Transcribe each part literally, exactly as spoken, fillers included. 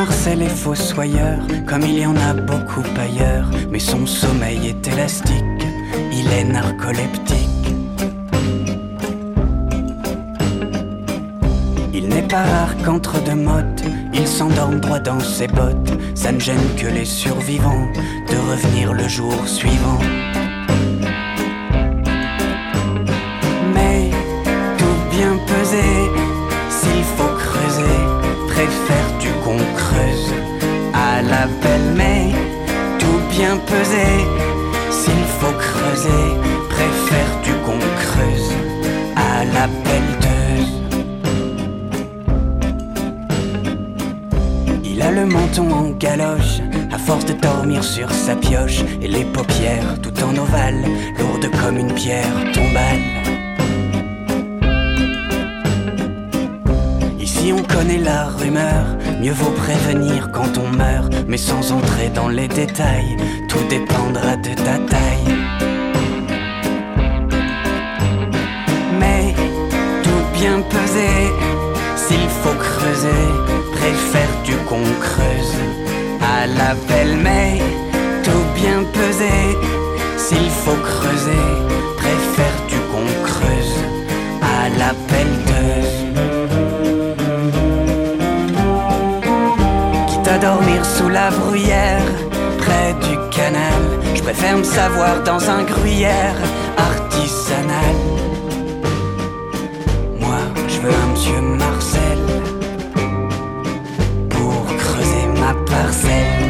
Marcel est fossoyeur, comme il y en a beaucoup ailleurs, mais son sommeil est élastique, il est narcoleptique. Il n'est pas rare qu'entre deux mottes, il s'endorme droit dans ses bottes. Ça ne gêne que les survivants de revenir le jour suivant. Mais tout bien pesé, s'il faut creuser, préfères-tu qu'on creuse à la pelle? Mais tout bien pesé, s'il faut creuser, préfères-tu qu'on creuse à la pelleteuse? Il a le menton en galoche, à force de dormir sur sa pioche, et les paupières tout en ovale, lourdes comme une pierre tombale. Ici on connaît la rumeur, mieux vaut prévenir quand on meurt, mais sans entrer dans les détails, tout dépendra de ta taille. Mais tout bien pesé, s'il faut creuser, préfères-tu qu'on creuse à la pelle? Mais tout bien pesé, s'il faut creuser, préfères-tu qu'on creuse à la pelleteuse? Quitte à dormir sous la bruyère, près du canal, je préfère me savoir dans un gruyère artisanal. Moi, je veux un monsieur Marcel parcelle.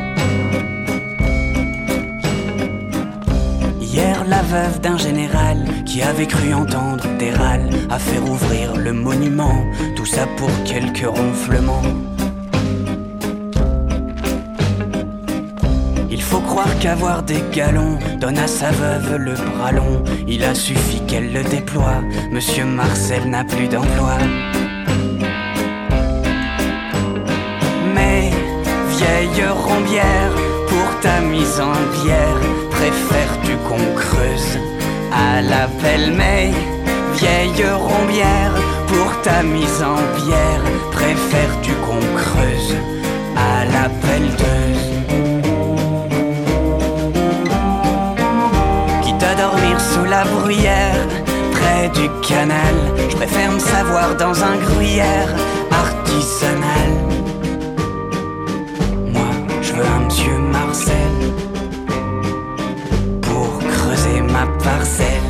Hier, la veuve d'un général qui avait cru entendre des râles a fait rouvrir le monument, tout ça pour quelques ronflements. Il faut croire qu'avoir des galons donne à sa veuve le bras long. Il a suffi qu'elle le déploie, monsieur Marcel n'a plus d'emploi. Vieille rombière, pour ta mise en bière, préfères-tu qu'on creuse à la pelle? Mais vieille rombière, pour ta mise en bière, préfères-tu qu'on creuse à la pelleteuse? Quitte à dormir sous la bruyère, près du canal, je préfère me savoir dans un gruyère artisanal. Un monsieur Marcel pour creuser ma parcelle.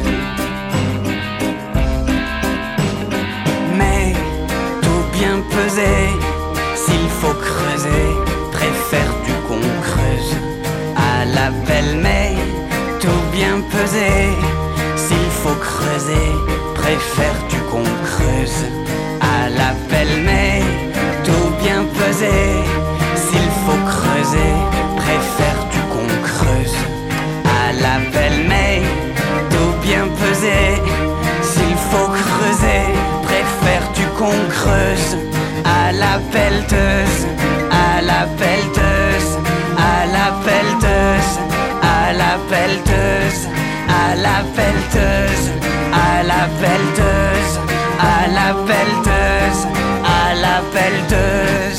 Mais tout bien pesé, s'il faut creuser, préfères-tu qu'on creuse à la pelle? Mais tout bien pesé, s'il faut creuser, préfères-tu qu'on creuse à la pelle? Mais tout bien pesé, s'il faut creuser, préfères-tu qu'on creuse à la pelle? Mais tout bien pesé, s'il faut creuser, préfères-tu qu'on creuse à la pelleteuse? À la pelleteuse, à la pelleteuse, à la pelleteuse, à la pelleteuse, à la pelleteuse, à la pelleteuse, à la pelleteuse.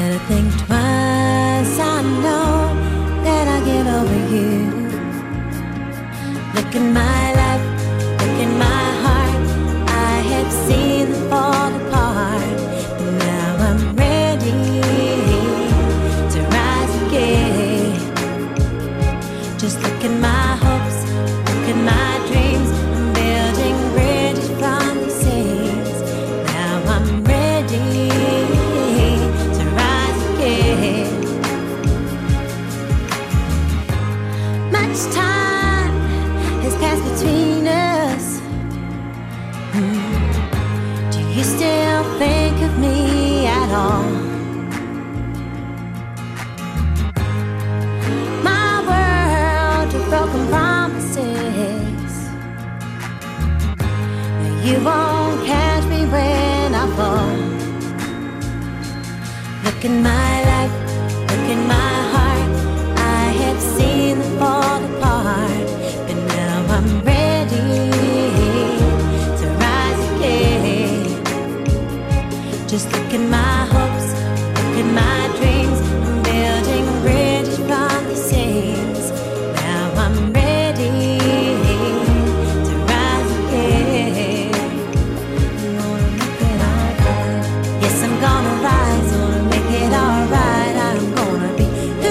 Better think twice, I know that I get over you. Look in my life, look in my heart, I have seen them fall apart, but now I'm ready to rise again. Just look at my hopes, look at my dreams, I'm building bridges from the seas. Now I'm ready to rise again. Much time has passed between us. Hmm. Do you still think of me at all? My world of broken promises. Now you won't catch me when I fall. Look in my life, look in my heart, I have seen them fall apart, but now I'm ready to rise again. Just look at my hopes, look at my dreams, I'm building bridges from the seas. Now I'm ready to rise again. I'm gonna make it alright. Yes, I'm gonna rise, gonna make it alright. I'm gonna be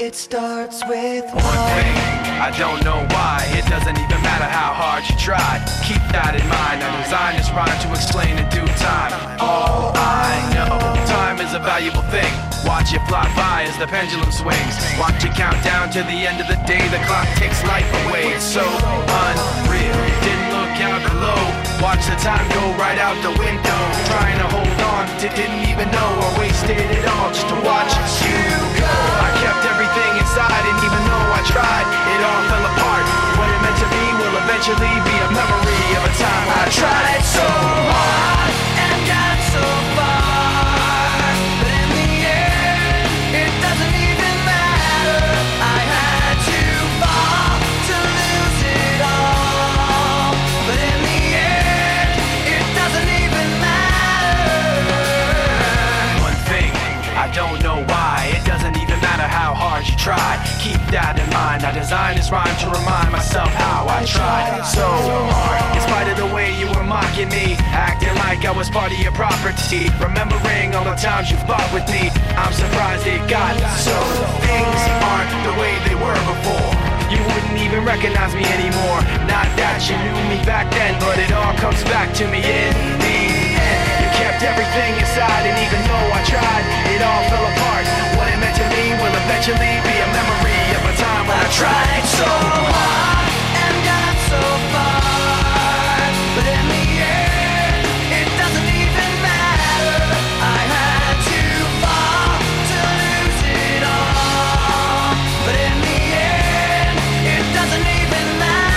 It starts with one thing, I don't know why. It doesn't even matter how hard you try. Keep that in mind, I designed this rhyme to explain in due time. All I know, time is a valuable thing. Watch it fly by as the pendulum swings. Watch it count down to the end of the day. The clock takes life away, it's so unreal. Didn't look out below, watch the time go right out the window. Trying to hold on to didn't even know I wasted it all just to watch you go. I kept everything inside and even though I tried, it all fell apart. What it meant to be will eventually be a memory of a time when I tried so hard and got so far, but in the end, it doesn't even matter. I had to fall to lose it all, but in the end, it doesn't even matter. One thing, I don't know why, it doesn't even matter how hard you try. Keep that in mind, I designed this rhyme to remind myself how I tried so hard. In spite of the way you were mocking me, acting like I was part of your property, remembering all the times you fought with me, I'm surprised it got so. Things aren't the way they were before. You wouldn't even recognize me anymore. Not that you knew me back then, but it all comes back to me in the end. You kept everything inside and even though I tried, it all fell apart. What it meant to me will eventually be a memory of a time when I tried so hard and got so far, but in the end, it doesn't even matter. I had to fall to lose it all, but in the end, it doesn't even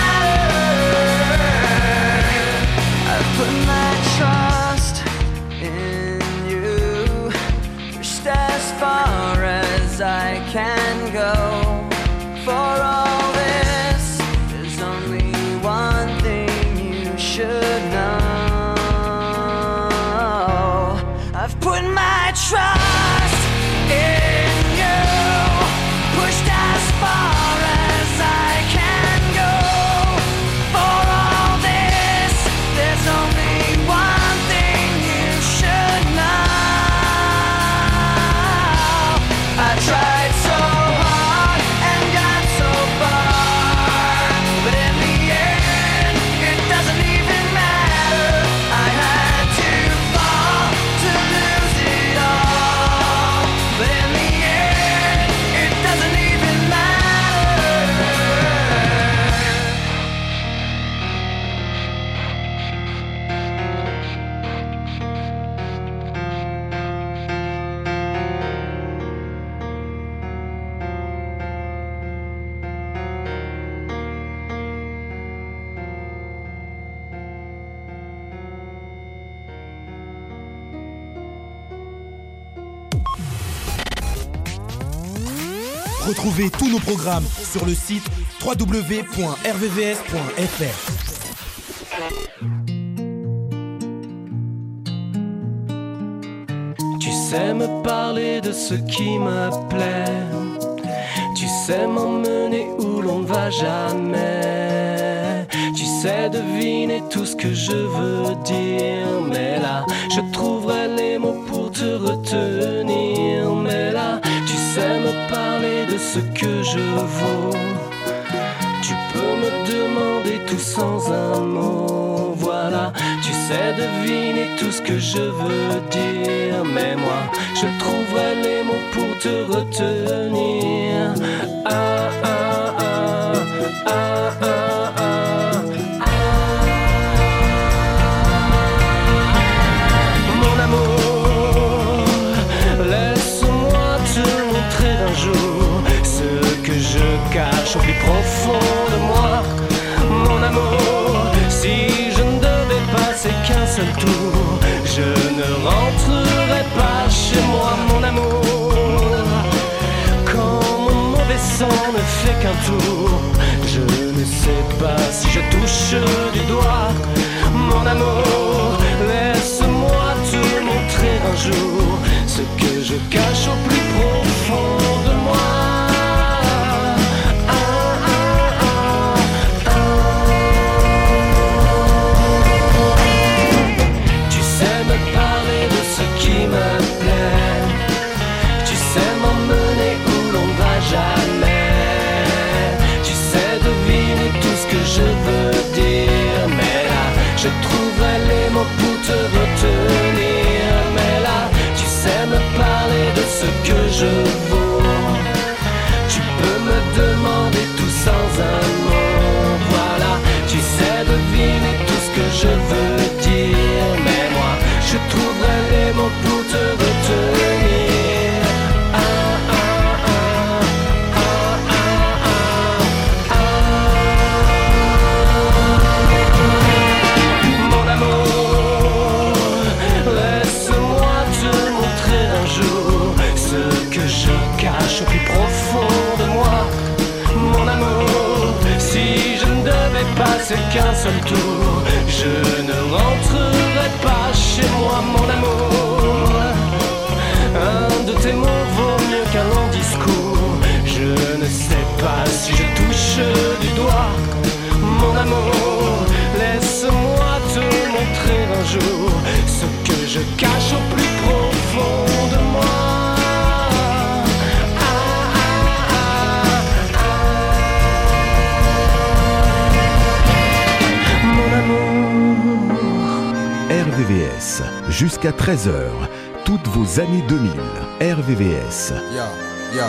matter. I put my trust in you, pushed as far as I can go. For all this, there's only one thing you should know. I've put my trust in you, pushed as far as I can go. For all this, there's only one thing you should know. I tried so hard and got so far, but in the end, it doesn't even matter. I had to fall to lose it all, but in the end, it doesn't even matter. Retrouvez tous nos programmes sur le site w w w point r v v s point f r. Tu sais me parler de ce qui me plaît, tu sais m'emmener où l'on ne va jamais, tu sais deviner tout ce que je veux dire, mais là je trouverai les mots pour te retenir, mais là tu sais me parler de ce que je vaux, tu peux me demander tout sans un mot, voilà, tu sais deviner tout ce que je veux dire, mais moi je trouverai les mots pour te retenir. Ah ah ah ah ah ah. Mon amour, laisse-moi te montrer un jour ce que je cache au plus profond de moi. Mon amour, si je ne devais passer qu'un seul tour, je ne rentrerai pas chez moi, mon amour. Quand mon mauvais sang ne fait qu'un tour, je ne sais pas si je touche du doigt. Mon amour, laisse-moi te montrer un jour ce que je cache au plus profond de moi. Jamais je trouverai les mots pour te retenir. Mais là, tu sais me parler de ce que je vaux. Tu peux me demander tout sans un mot. Voilà, tu sais deviner tout ce que je veux dire. Mais moi, je trouverai les mots pour te retenir. Ah, ah, ah, ah, ah, ah, ah. Mon amour, laisse-moi te montrer un jour ce que je cache au plus profond de moi. Mon amour, si je ne devais passer qu'un seul tour, je ne rentrerai pas chez moi. Mon amour, un de tes mots vaut mieux qu'un long discours. Je ne sais pas si je touche du doigt. Mon amour, laisse-moi te montrer un jour ce que je cache au plus profond de moi. R V V S, jusqu'à treize heures, toutes vos années deux mille. R V V S. Yo, yo.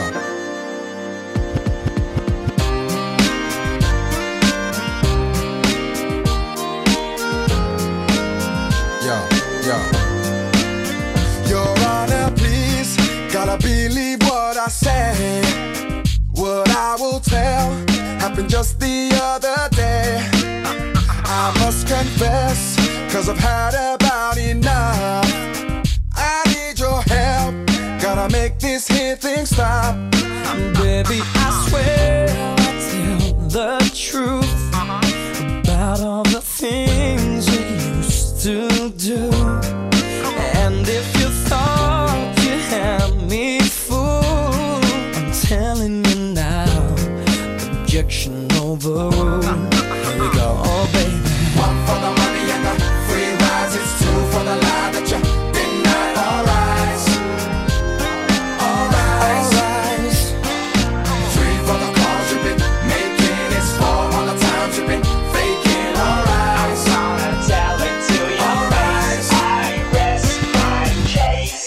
Yo, yo. Your Honor, please, gotta believe what I say. What I will tell happened just the other day. I must confess, cause I've had about enough. I need your help, gotta make this here thing stop. Baby, I swear I'll tell the truth about all the things you used to do. And if you thought you had me fooled, I'm telling you now, objection overruled. Here we go, oh baby. One for the money and the free rides, it's two for the lie that you denied. All rise, all rise, all rise. Three for the calls you've been making, it's four all the times you've been faking. All rise, I'm gonna tell it to you. All rise, I rest my case.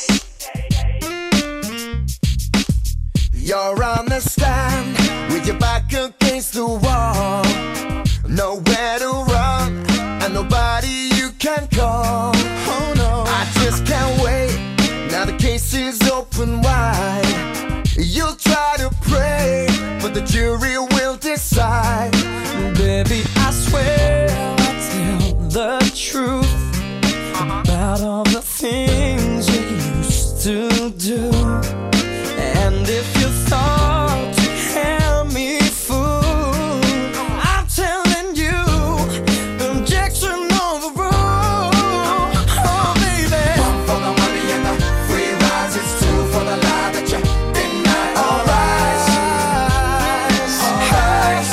You're on the stand with your back against the wall, nowhere to run, and nobody you can call. Oh no, I just can't wait. Now the case is open wide. You'll try to pray, but the jury will decide. Baby, I swear I'll tell the truth about all the things you used to do. And if you thought you had me fooled, I'm telling you, objection overruled. Oh baby. One for the money and the free rides, it's two for the lie that you denied. All rise, all rise.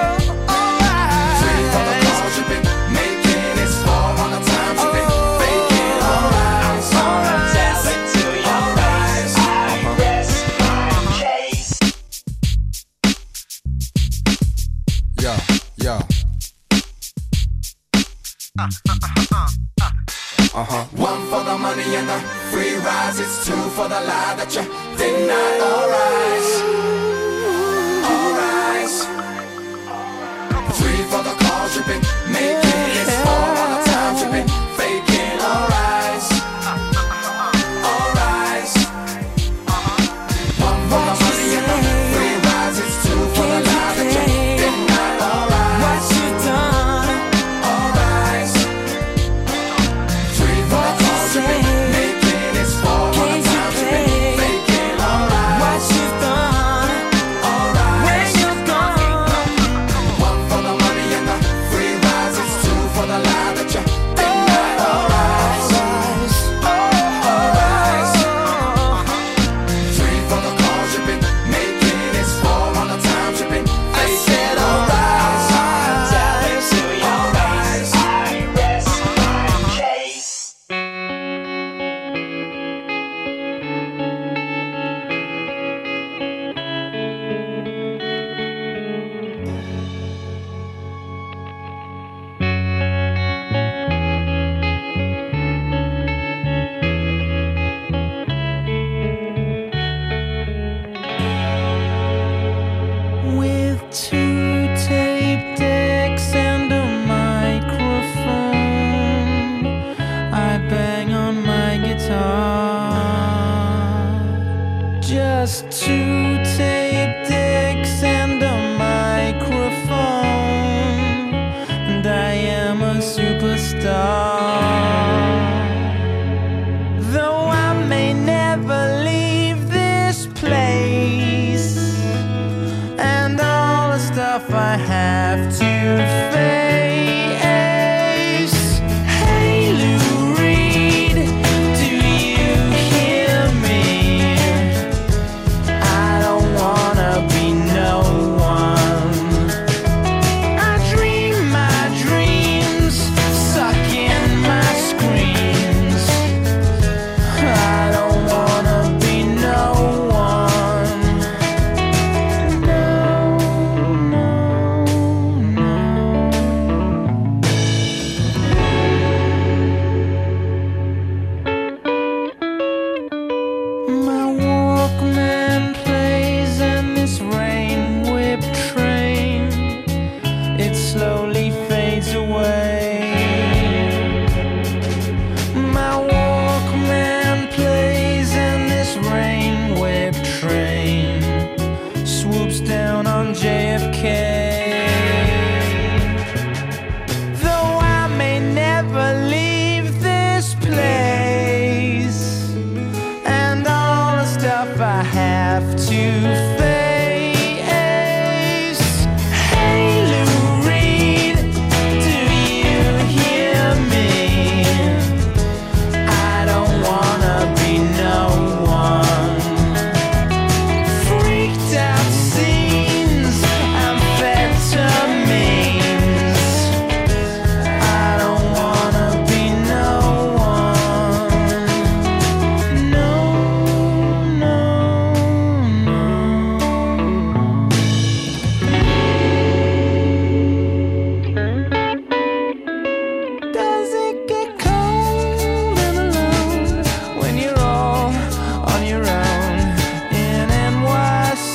Three for the calls you've been making, it's four on the times you've been faking. All rise, all rise. Tell it to you. All rise, I rest my case. Yo, yo. Uh-huh. One for the money and the free rides, it's two for the lie that you denied. All rise, all rise. Three for the calls you've been making, it's four all the times you've been faking. All rise, all rise. One for the money and the free rides, it's two for the lie that you denied. All rise, What you done? all rise. Three for the calls you've been making, it's four all the times you've been faking. All rise. What you done? just two tape decks and a microphone, and I am a superstar. Though I may never leave this place, and all the stuff I have to face. Hey Lou Reed, do you hear me? I don't wanna be no one. I dream my dreams, suck in my screams. I don't wanna be no one. No, no, no. My Walkman plays in this rain-whipped train. It slowly fades away. My Walkman plays in this rain-whipped train. Swoops down on J F K. Though I may never leave this place, and all the stuff I have to face. Hey Lou Reed, do you hear me? I don't wanna be no one. Freaked out scenes, amphetamines. I don't wanna be no one. No, no, no. Does it get cold and alone when you're all on your own in N Y C?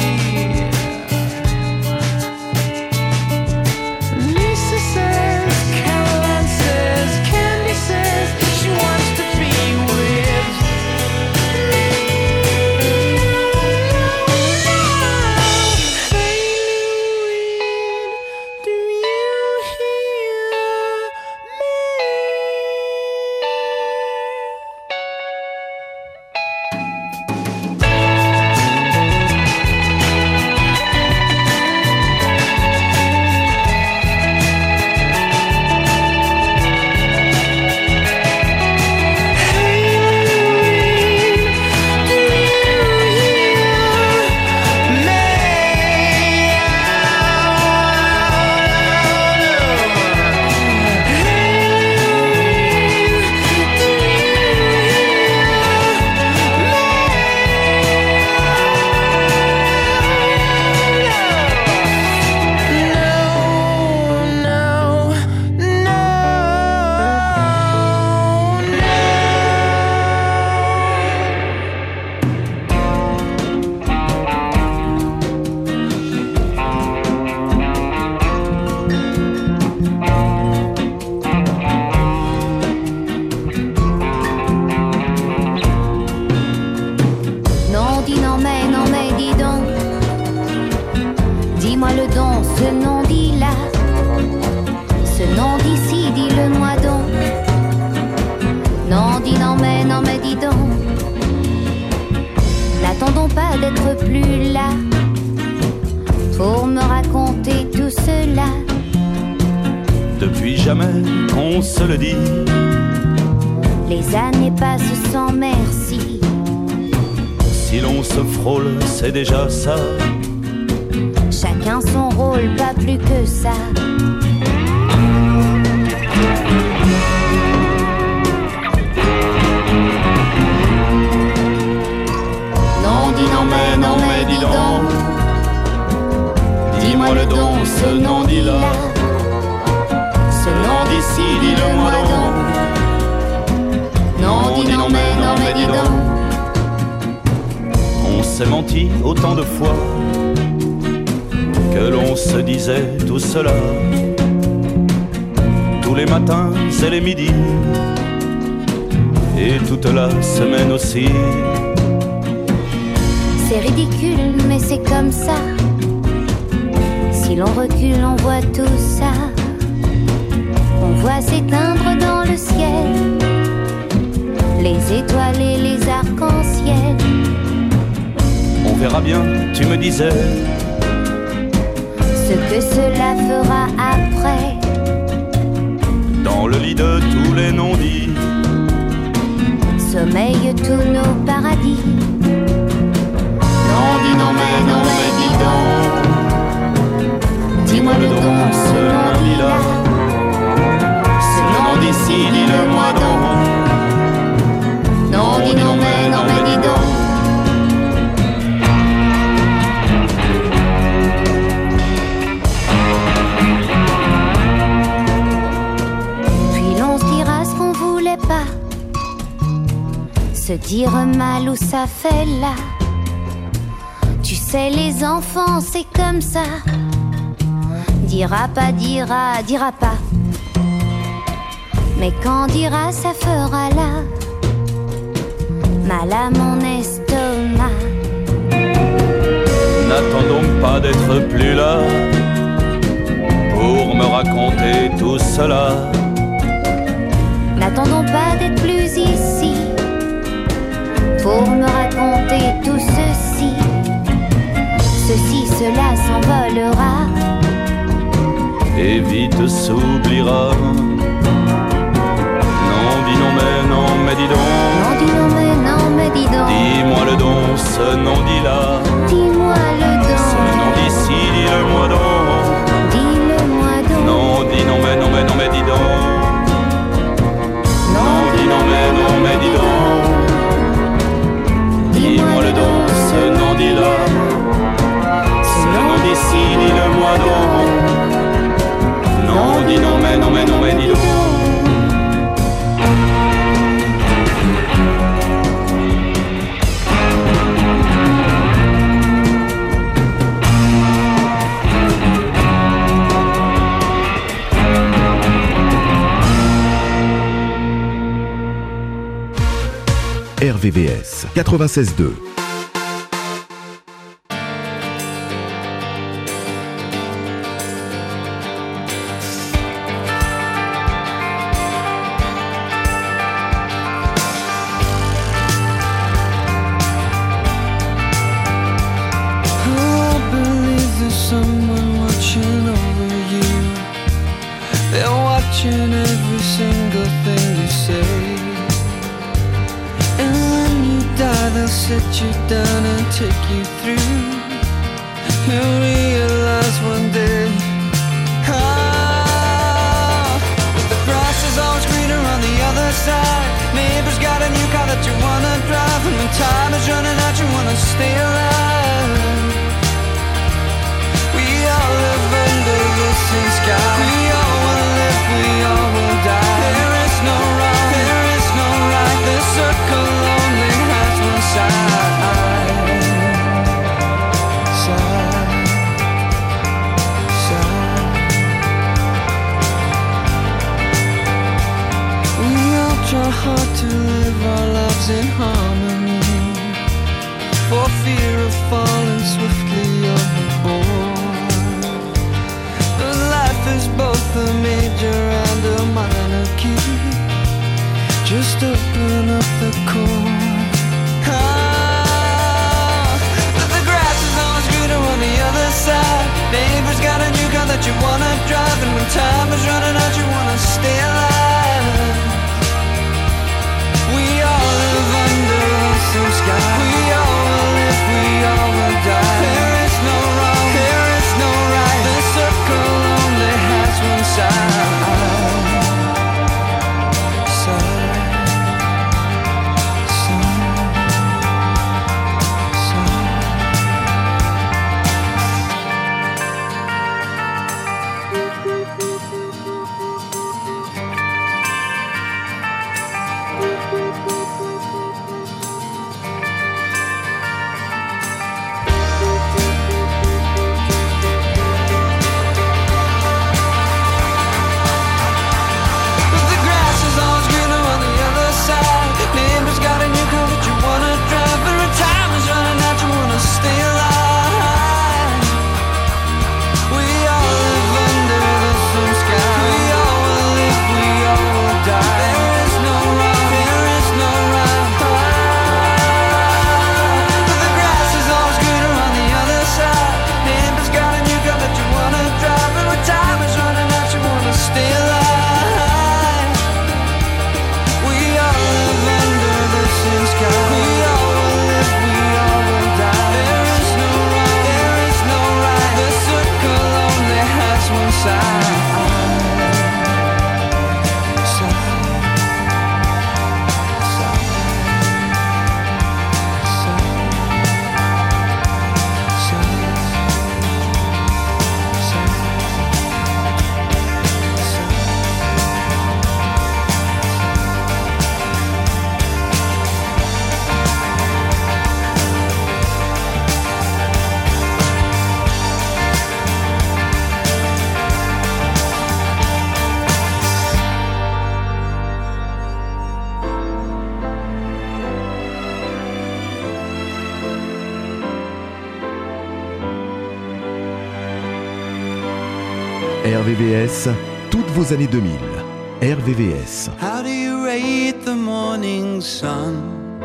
Lisa says, Caroline says, Candy says she wants to be with me. Hey Louie, do you hear me? Non, dis non, mais non, mais dis donc. Dis-moi le don, ce nom dit là. Ce nom d'ici, dis-le-moi donc. Non, dis non, mais non, mais dis donc. N'attendons pas d'être plus là pour me raconter tout cela. Depuis jamais qu'on se le dit, Les années passent sans merci. si l'on se frôle, c'est déjà ça. Chacun son rôle, pas plus que ça. Non, dis non, mais non, mais dis donc. Dis-moi le don, ce nom dit là. Ce nom d'ici, dis-le-moi donc. Non, dis non, mais non, mais dis donc. On s'est menti autant de fois que l'on se disait tout cela. Tous les matins et les midis, et toute la semaine aussi. C'est ridicule, mais c'est comme ça. Si l'on recule, on voit tout ça. On voit s'éteindre dans le ciel les étoiles et les arcs-en-ciel. On verra bien, tu me disais, ce que cela fera après. Dans le lit de tous les non-dits sommeillent tous nos paradis. Non, dis non, mais non, mais dis donc. Dis-moi le don, ce non-dit-là. Ce non-d'ici, dis-le-moi donc. Non, dis non, mais non, mais dis donc. Se dire mal où ça fait là. Tu sais les enfants c'est comme ça. Dira pas, dira, dira pas. Mais quand dira ça fera là mal à mon estomac. N'attends donc pas d'être plus là pour me raconter tout cela. N'attendons pas d'être plus ici pour me raconter tout ceci. Ceci, cela s'envolera et vite s'oubliera. Non, dis non, mais non, mais dis donc. Non, dis non, mais non, mais dis donc. Dis-moi le don, ce non-dit-là. Dis-moi le don. Ce non-d'ici, dis-le-moi donc. Dis-le-moi donc. Non, dis non, mais non, mais non, mais dis donc. Non, dis non, mais non, mais dis donc. Dis-moi le don, ce non-dit-là. Ce non-d'ici, dis-le-moi donc. Non, dis non, mais non, mais non, mais dis donc. R V V S quatre-vingt-seize deux. Sit you down and take you through. You'll realize one day, ah, that the grass is always greener on the other side. Neighbor's got a new car that you wanna drive, and when time is running out you wanna stay alive. We all live under the same sky. We all will live, we all will die. There is no wrong, there is no right. This circle only has one side. Hard to live our lives in harmony, for fear of falling swiftly overboard. But life is both a major and a minor key. Just open up the chord. Ah, but the grass is always greener on the other side. Neighbor's got a new car that you wanna drive, and when time is running out you wanna stay alive. We all live under the same sky. We all will live, we all will die. There is no wrong, there is no right. The circle only has one side. Side, side, side. R V V S, toutes vos années deux mille. R V V S. How do you rate the morning sun?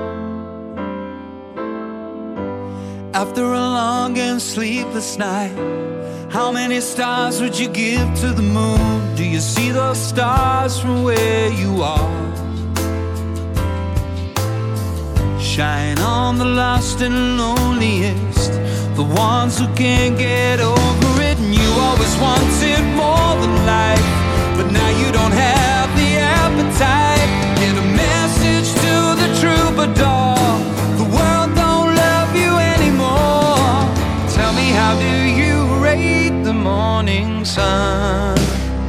After a long and sleepless night, how many stars would you give to the moon? Do you see those stars from where you are? Shine on the lost and loneliest, the ones who can't get over it. And you always wanted more than life, but now you don't have the appetite. Get a message to the troubadour, the world don't love you anymore. Tell me, how do you rate the morning sun?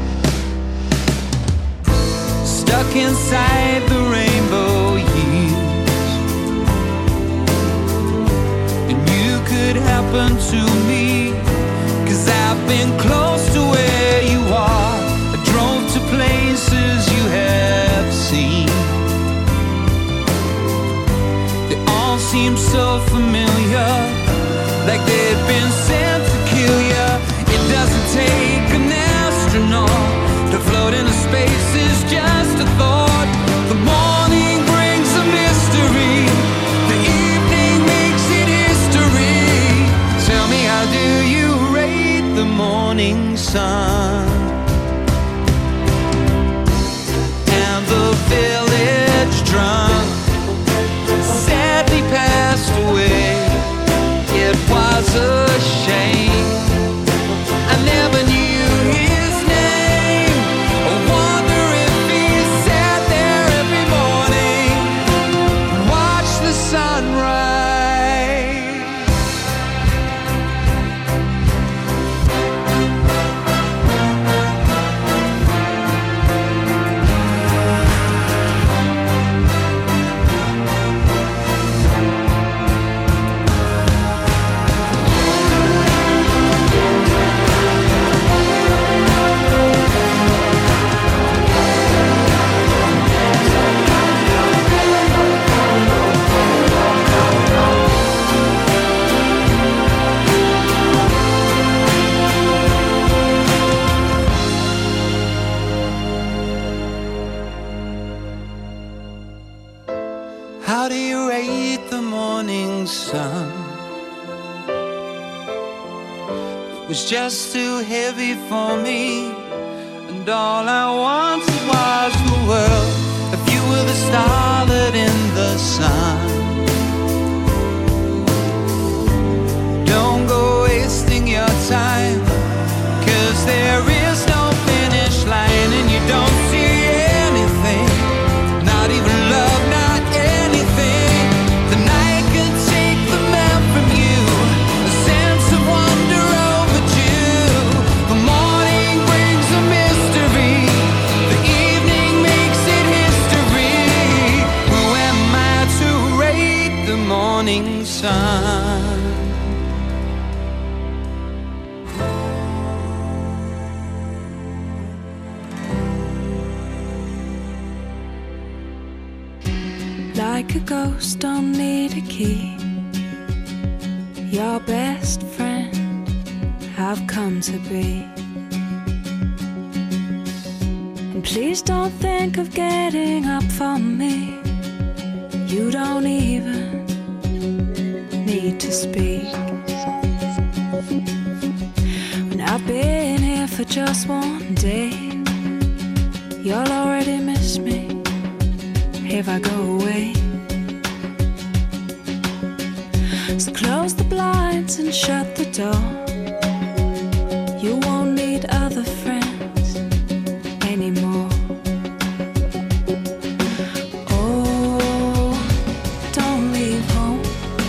Stuck inside the rainbow years, and you could happen to me, 'cause I've been close to where you are. I drove to places you have seen. They all seem so familiar, like they've been sent to kill you. It doesn't take an astronaut to float into space, is just a thought. The morning brings a mystery, the evening makes it history. Tell me, how do you rate the morning sun? And the village drunk sadly passed away. It was a shame, I never knew his name. I wonder if he sat there every morning and watched the sunrise. How do you rate the morning sun? It was just too heavy for me, and all I wanted was the world. If you were the starlet in the sun, don't go wasting your time, 'cause there is no finish line, and you don't see anything, not even love, not anything. The night can take the man from you, a sense of wonder overdue. The morning brings a mystery, the evening makes it history. Who am I to rate the morning sun? Like a ghost, don't need a key. Your best friend I've come to be. And please don't think of getting up for me. You don't even need to speak. When I've been here for just one day, you'll already miss me if I go away. So close the blinds and shut the door. You won't need other friends anymore. Oh, don't leave home.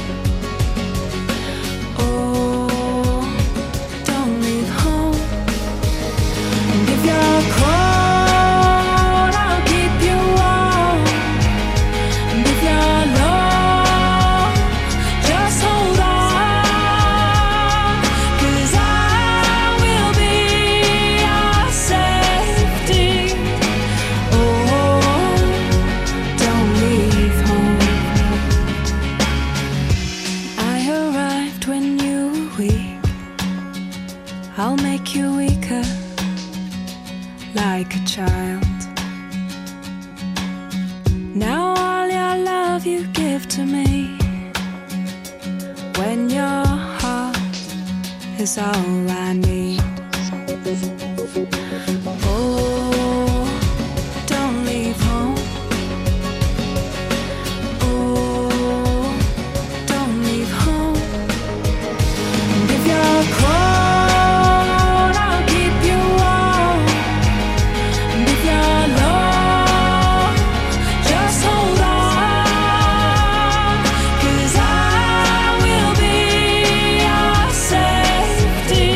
Oh, don't leave home. And if you're cold, I'll keep you warm. And if you're low, just hold on. is all I need. Oh, don't leave home. Oh, don't leave home. And if you're cold, I'll keep you warm. And if you're low, just hold on, 'cause I will be your safety.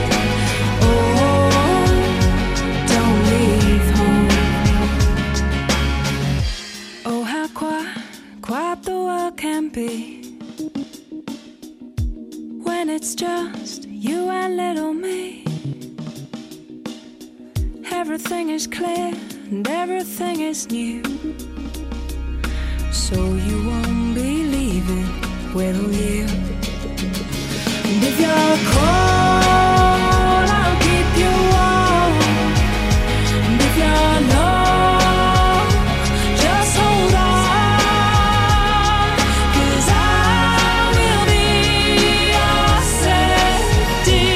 Oh, don't leave home. Oh, how quiet, quiet the world can be when it's just you and little me. Everything is clear and everything is new, so you won't be leaving, will you? And if you're cold, I'll keep you warm. And if you're low, just hold on, 'cause I will be your safety.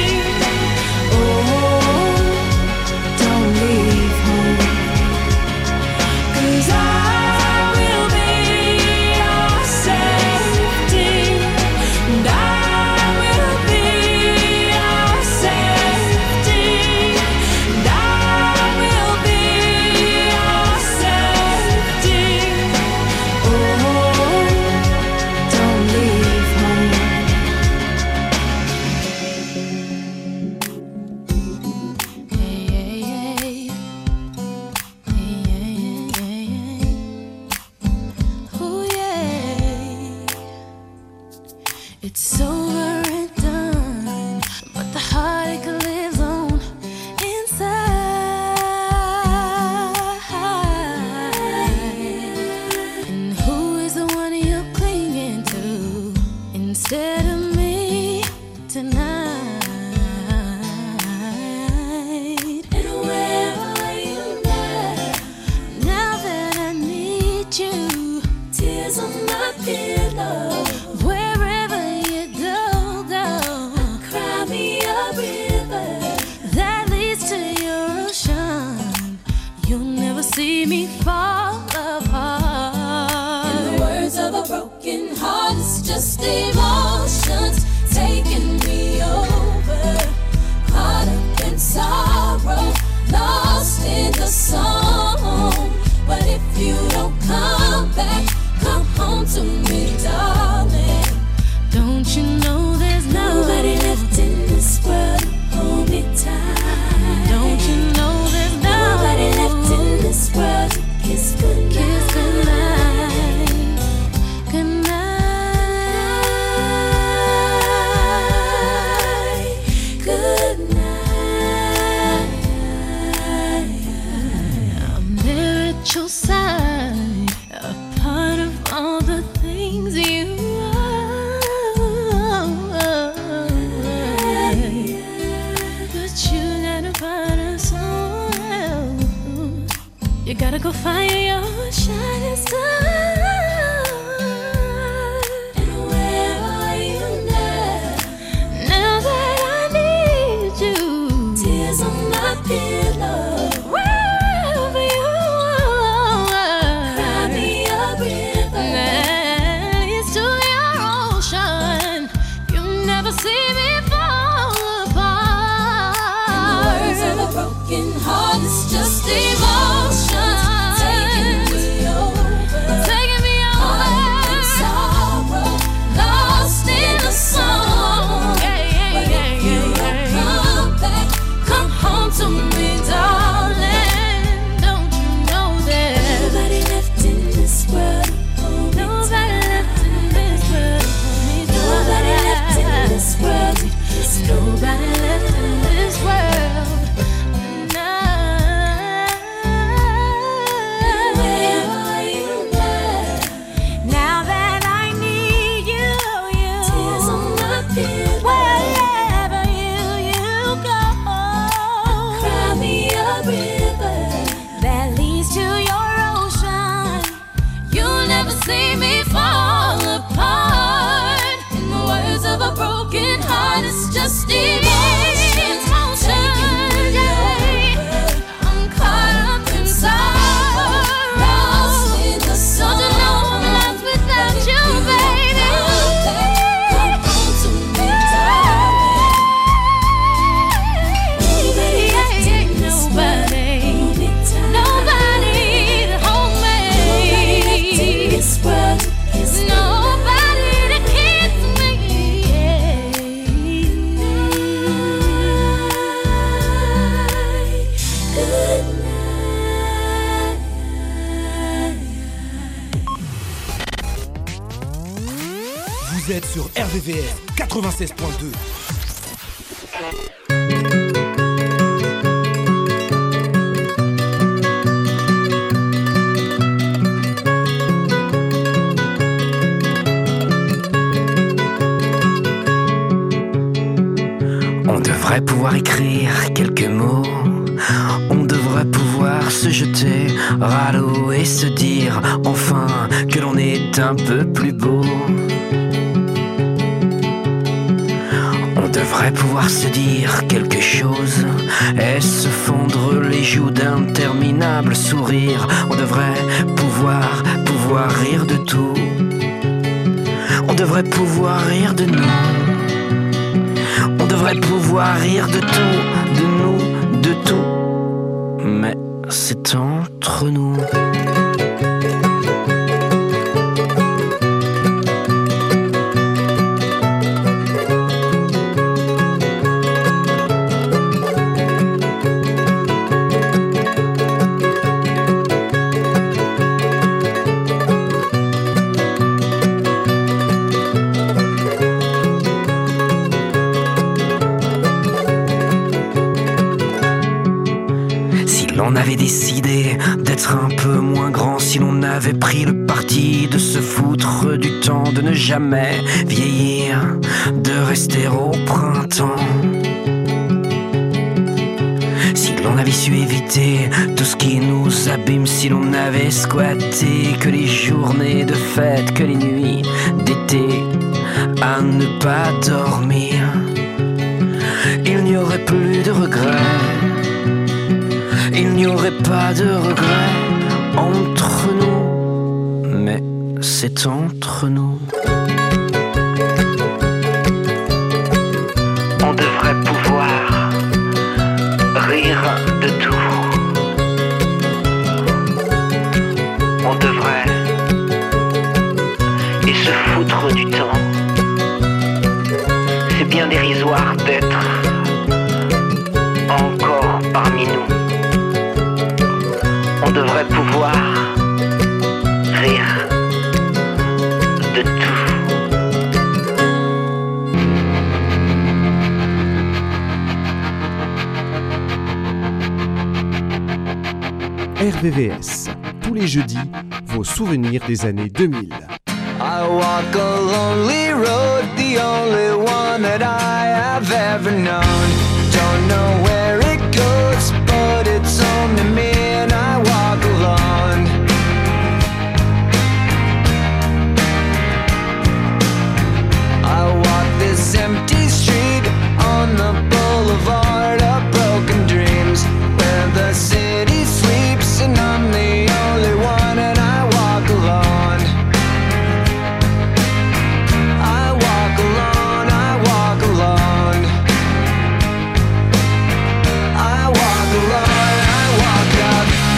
Oh, don't leave home, 'cause I will be your safety. And I will be your safety. And I will be your safety. Oh, don't leave home. Ooh, yeah. It's over and done, but the heartache lives on inside. And who is the one you're clinging to instead of me tonight? And where are you now? Now that I need you, tears on my pillow. Wherever you go, go. Cry me a river that leads to your ocean. You'll never see me fall apart. In the words of a broken heart, it's just emotions taking me over. Caught up in sorrow, lost in the song. But if you don't come back, come home to me, darling. Don't you know there's nobody left in this world to hold me tight? Don't you know there's nobody left in this world to kiss goodnight? Kiss goodnight. Goodnight. Goodnight. I'm there at your side, a part of all the things you are. But you gotta find us someone else. You gotta go find your shining star. And where are you now? Now that I need you, tears on my pillow. Wherever you are, cry me a river that leads to your ocean. You never see me fall apart. In the words of a broken heart, it's just emotion taking me over. Taking me Vous êtes sur R V V S quatre-vingt-seize point deux. On devrait pouvoir écrire quelques mots. On devrait pouvoir se jeter à l'eau et se dire enfin que l'on est un peu plus beau. On devrait pouvoir se dire quelque chose et se fondre les joues d'interminables sourires. On devrait pouvoir, pouvoir rire de tout. On devrait pouvoir rire de nous. On devrait pouvoir rire de tout, de nous, de tout. Mais c'est entre nous. On avait décidé d'être un peu moins grand, si l'on avait pris le parti de se foutre du temps, de ne jamais vieillir, de rester au printemps. Si l'on avait su éviter tout ce qui nous abîme, si l'on avait squatté que les journées de fête, que les nuits d'été à ne pas dormir, il n'y aurait plus de regrets. Il n'y aurait pas de regrets entre nous, mais c'est entre nous. On devrait pouvoir rire de tout. On devrait et se foutre du temps. C'est bien dérisoire d'être encore parmi nous. On devrait pouvoir rire de tout. R V V S, tous les jeudis, vos souvenirs des années deux mille. I walk a lonely road, the only one that I have ever known. Don't know where it goes, but it's home to me and I walk alone. I walk this empty street on the boulevard of broken dreams, where the city sleeps and I'm the only one and I walk alone. I walk alone, I walk alone. I walk alone, I walk up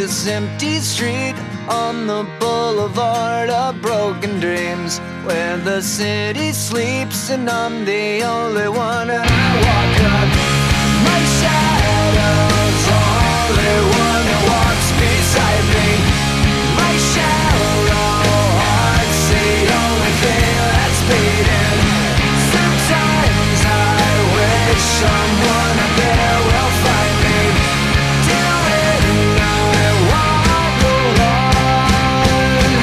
this empty street on the boulevard of broken dreams, where the city sleeps and I'm the only one. And I walk up, my shadow's only one that walks beside me. My shallow heart's the only thing that's beating. Sometimes I wish someone up there will find me. Doing I walk alone.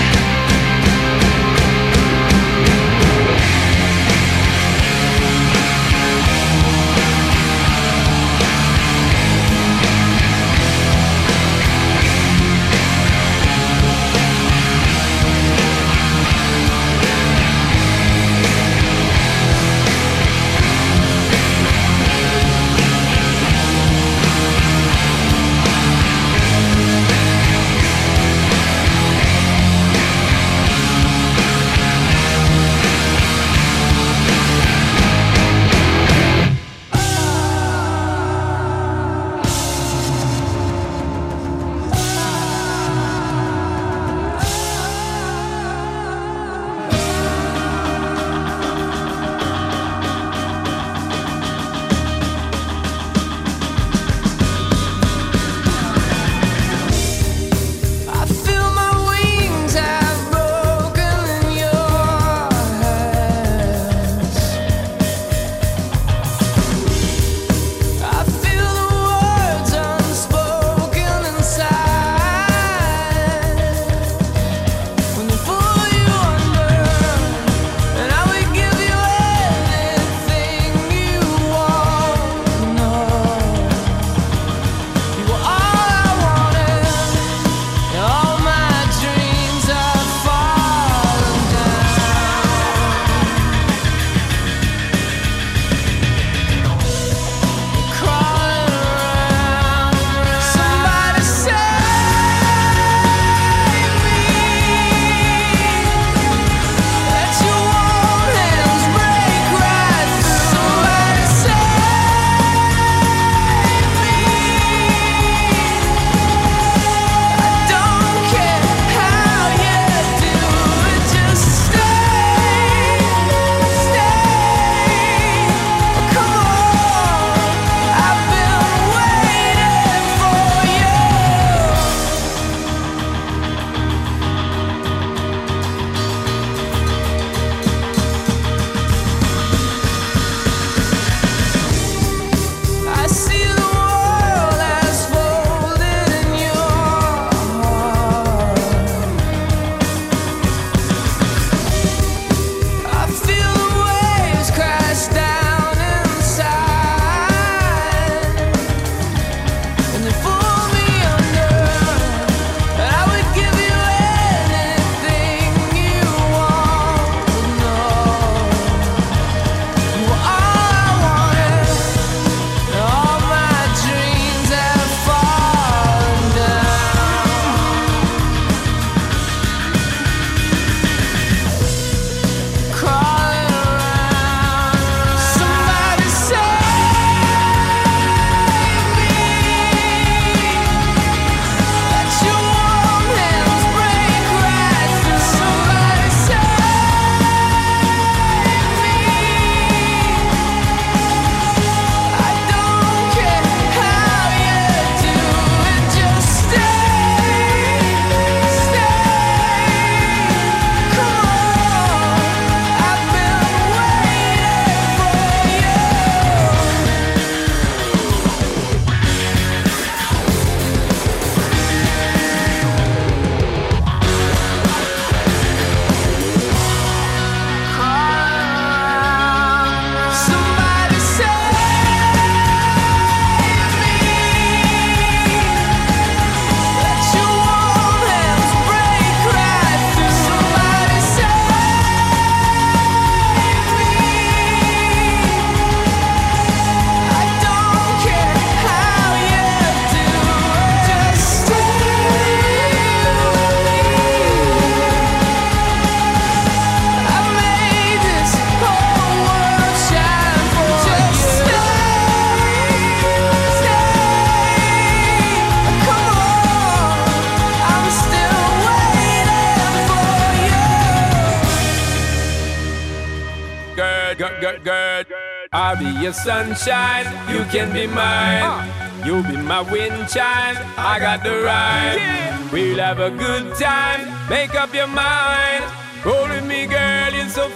girl, girl. I'll be your sunshine, you can be mine. You be my wind chime, I got the rhyme. We'll have a good time, make up your mind. Roll with me, girl, you're so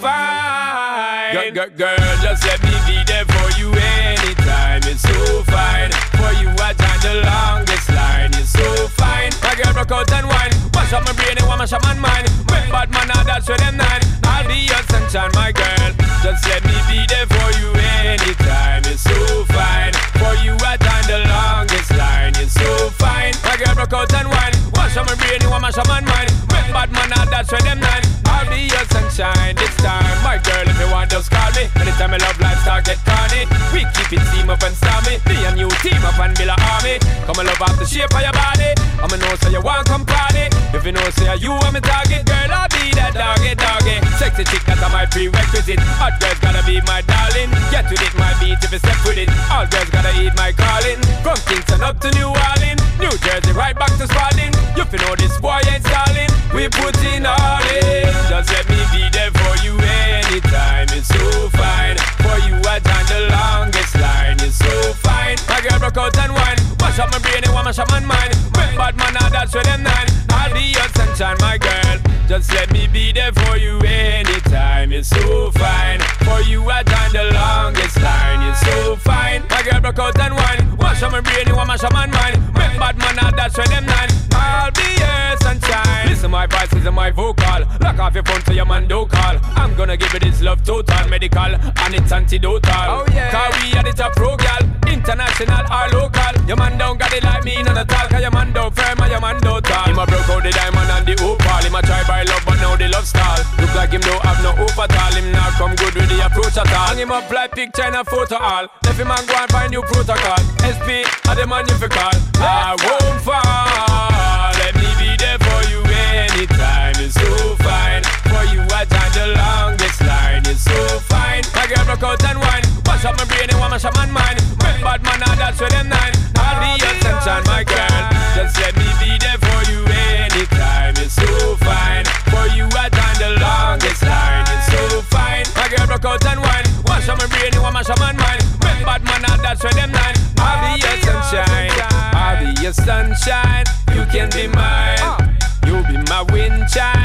fine. Girl, girl, girl, just let me be there for you anytime. You're so fine. For you, I time the longest line. You're so fine. My girl, broke out and wine. Wash up my brain and wash up my mind. Make bad man, now that's where them nine. I'll be your sunshine, my girl. Just let me be there for you anytime. You're so fine. For you, I time the longest line. You're so fine. My girl, broke out and wine. Wash up my brain and wash up my mind. Make bad man, now that's where them nine. I'll be your sunshine this time. My girl, if you want, just call me. Anytime my love life start get corny, we keep it team up and stormy. Be a new team up and build a army. Come and love off the shape of your body. I'ma know say you want come party. If you know say you want me target, girl, I'll be that doggy doggy. Sexy chick, that's my prerequisite. Hot girls gotta be my darling. Get with it, my beat if you step with it. All girls gotta eat my calling. From Kingston up to New Orleans, New Jersey right back to Spalding. You fi know this boy ain't stalling. We put in all in. Just let me be there for you anytime. It's so fine. For you I time the longest line. It's so fine. My girl broke out and wine. Wash up my brain and wash up my mind. Make bad man now that's where them nine. I'll be your sunshine, my girl. Just let me be there for you anytime. It's so fine. For you I time the longest line. It's so fine. My girl broke out and wine. Wash up my brain and wash up my mind. Make bad man now that's where them nine. I'll be your sunshine. Listen my voices and my vocal. Lock off your phone so your man don't call. I'm gonna give you this love total, medical, and it's antidotal. Oh yeah. Cause we are the top pro gal, international or local. Your man don't got it like me, none at all. Cause your man don't firm and your man don't tall. Him a broke out the diamond and the opal. Him a try by love but now the love stall. Look like him don't have no hope at all. Him not come good with the approach at all. Hang him up like picture and a photo all. Left him and go and find new protocol. S P are the man you fi call. I won't fall. Let me be there for you anytime. It's so fine. For you I time the longest line. It's so fine. My girl broke out and wine. Wash up my brain and wash up my mind. Make bad man now that's where them nine. I'll be your sunshine, my girl. Just let me be there for you anytime. It's so fine. For you I time the longest line. It's so fine. My girl broke out and wine. Wash up my brain and wash up my mind. Make bad man now that's where them nine. I'll be your sunshine. I'll be your sunshine. You can be mine. You be my wind chime.